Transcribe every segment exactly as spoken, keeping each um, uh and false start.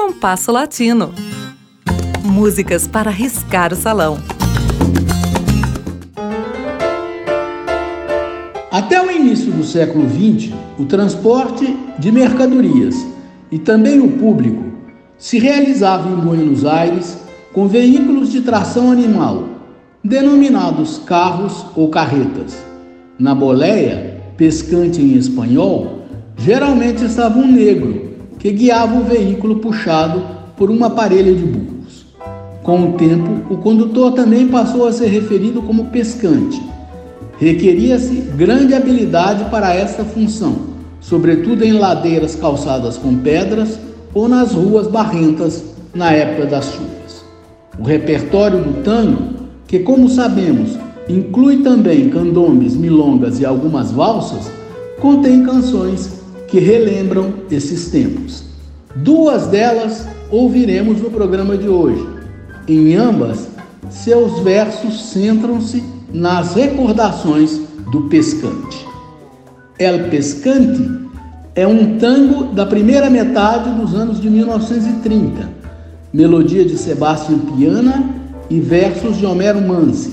Compasso Latino. Músicas para riscar o salão. Até o início do século vinte, o transporte de mercadorias e também o público se realizava em Buenos Aires com veículos de tração animal, denominados carros ou carretas. Na boleia, pescante em espanhol, geralmente estava um negro que guiava o veículo puxado por uma parelha de burros. Com o tempo, o condutor também passou a ser referido como pescante. Requeria-se grande habilidade para esta função, sobretudo em ladeiras calçadas com pedras ou nas ruas barrentas na época das chuvas. O repertório do tango, que como sabemos inclui também candombes, milongas e algumas valsas, contém canções que relembram esses tempos. Duas delas ouviremos no programa de hoje. Em ambas, seus versos centram-se nas recordações do pescante. El Pescante é um tango da primeira metade dos anos de mil novecentos e trinta, melodia de Sebastián Piana e versos de Homero Mansi.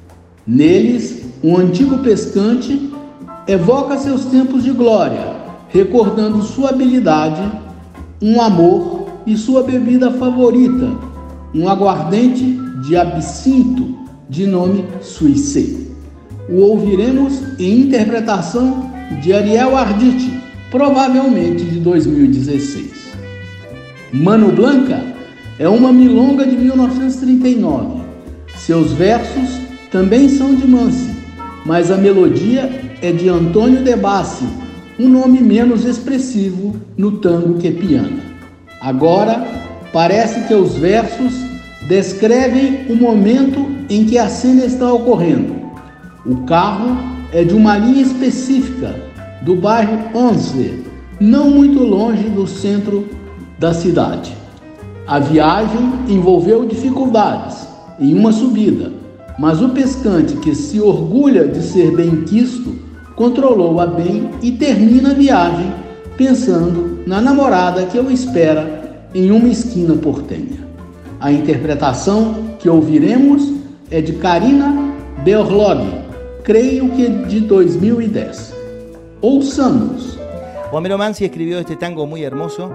Neles, um antigo pescante evoca seus tempos de glória, recordando sua habilidade, um amor e sua bebida favorita, um aguardente de absinto de nome Suissé. O ouviremos em interpretação de Ariel Arditi, provavelmente de dois mil e dezesseis. Mano Blanca é uma milonga de mil novecentos e trinta e nove. Seus versos também são de Mansi, mas a melodia é de Antônio de Bassi, um nome menos expressivo no tango que Piana. Agora, parece que os versos descrevem o momento em que a cena está ocorrendo. O carro é de uma linha específica do bairro Onze, não muito longe do centro da cidade. A viagem envolveu dificuldades em uma subida, mas o pescante, que se orgulha de ser bem-quisto, controlou-a bem e termina a viagem pensando na namorada que o espera em uma esquina portenha. A interpretação que ouviremos é de Karina Berlog, creio que de dois mil e dez. Ouçamos. Homero Mansi escribió este tango muy hermoso,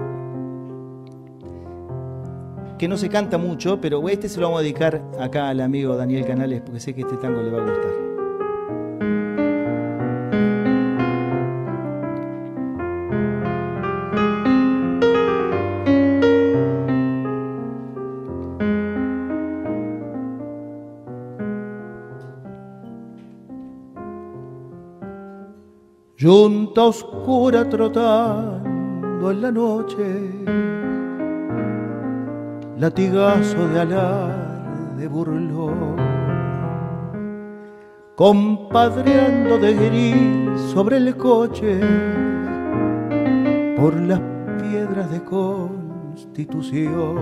que no se canta mucho, pero este se lo vamos a dedicar acá al amigo Daniel Canales, porque sé que este tango le va a gustar. Yunta oscura trotando en la noche, latigazo de alarde burlón, compadreando de gris sobre el coche, por las piedras de Constitución.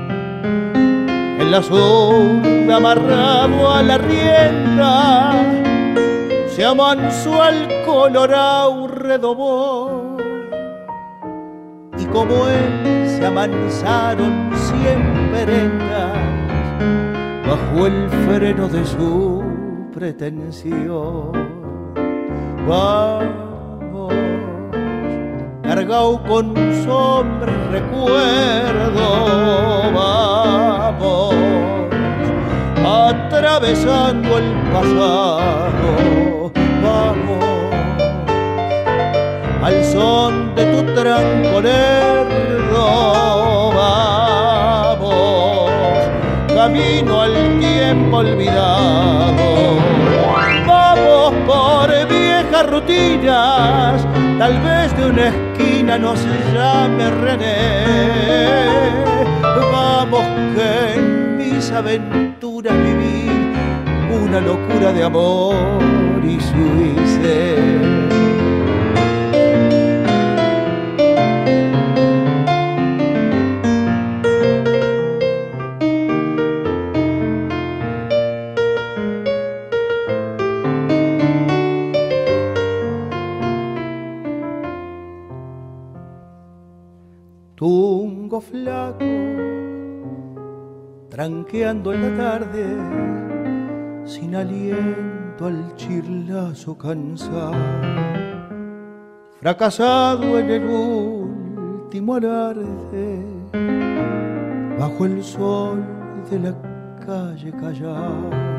En la zurda amarrado a la rienda, se amansó al colorao redobó, y como él se amansaron cien prendas bajo el freno de su pretensión. Vamos, cargado con sombra y recuerdo, vamos, atravesando el pasado, vamos, al son de tu tranco lerdo, vamos, camino al tiempo olvidado, vamos por viejas rutinas, tal vez de una esquina nos llame René, vamos que en mis aventuras viví una locura de amor y suicé. tungo flaco, tranqueando en la tarde, sin aliento al chirlazo cansado, fracasado en el último alarde, bajo el sol de la calle callada,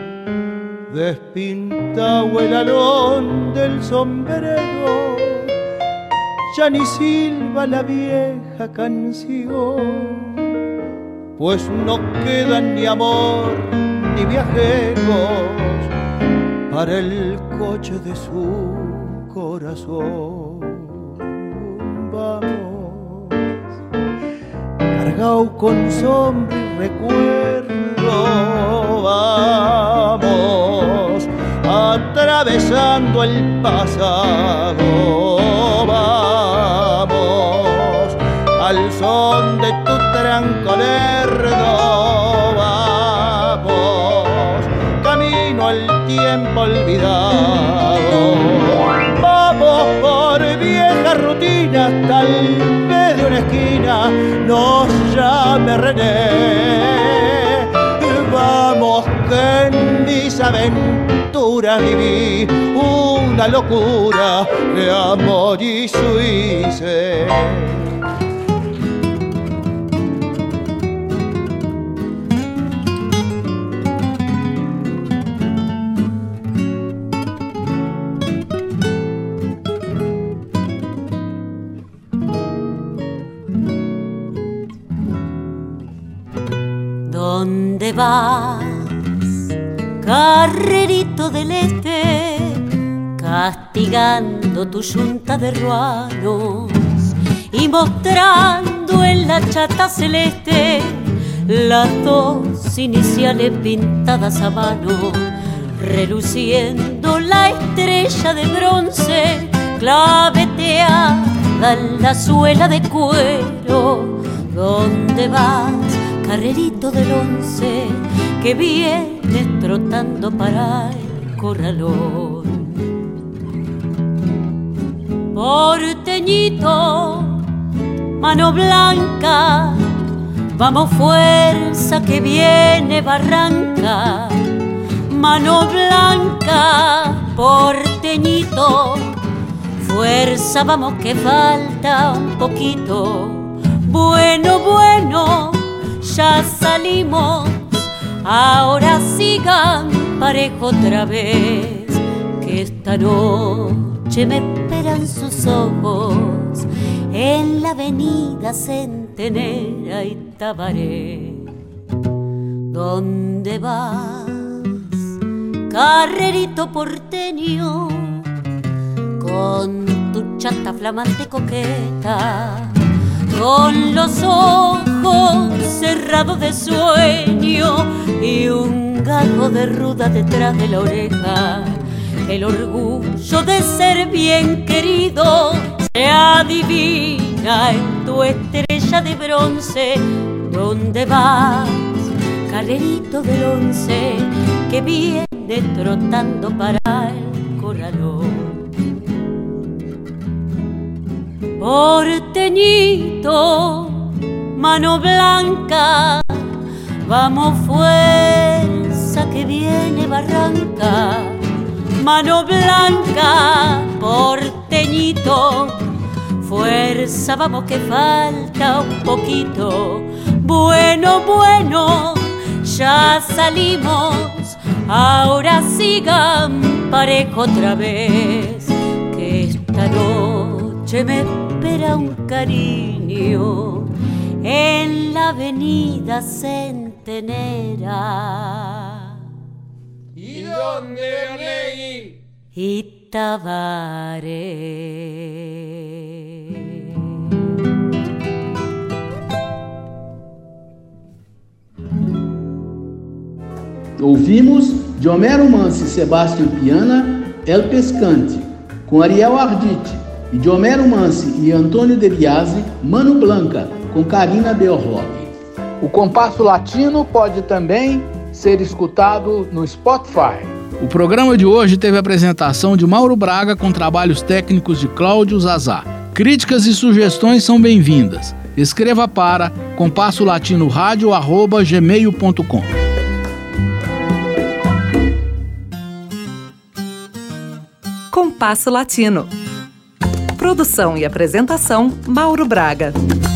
despintado el alón del sombrero, ya ni silba la vieja canción, pues no quedan ni amor ni viajeros para el coche de su corazón. Vamos, cargado con sombra y recuerdo, vamos, atravesando el pasado, vamos, al son de tu tranco lerdo, vamos, camino al tiempo olvidado, vamos por viejas rutinas, tal vez de una esquina nos llame René, vamos que en mis aventuras viví una locura de amor y suicé. ¿Dónde vas, carrerito del este, castigando tu yunta de ruanos y mostrando en la chata celeste las dos iniciales pintadas a mano, reluciendo la estrella de bronce claveteada en la suela de cuero? ¿Dónde vas, carrerito del once, que vienes trotando para el corralón? Porteñito, mano blanca, vamos fuerza que viene barranca. Mano blanca, porteñito, fuerza vamos que falta un poquito. Bueno, bueno, ya salimos, ahora sigan parejo otra vez, que esta noche me esperan sus ojos en la avenida Centenera y Tabaré. ¿Dónde vas, carrerito porteño, con tu chata flamante coqueta, con los ojos cerrados de sueño y un gajo de ruda detrás de la oreja? El orgullo de ser bien querido se adivina en tu estrella de bronce. ¿Dónde vas, carrerito del once, que viene trotando para el corralón? Porteñito, mano blanca, vamos fuerza que viene barranca. Mano blanca, porteñito, fuerza vamos que falta un poquito. Bueno, bueno, ya salimos, ahora sigan parejo otra vez, que esta noche me espera un cariño en la avenida Centenera. ¿Y dónde, Arlegui? Y Tabaré. Ouvimos de Homero Mansi e Sebastião Piana, El Pescante, com Ariel Arditi, e de Homero Mansi e Antônio De Biasi, Mano Blanca, com Karina Beorlog. O Compasso Latino pode também ser escutado no Spotify. O programa de hoje teve a apresentação de Mauro Braga com trabalhos técnicos de Cláudio Zazá. Críticas e sugestões são bem-vindas. Escreva para compasso latino rádio arroba gmail ponto com. Compasso Latino. Produção e apresentação, Mauro Braga.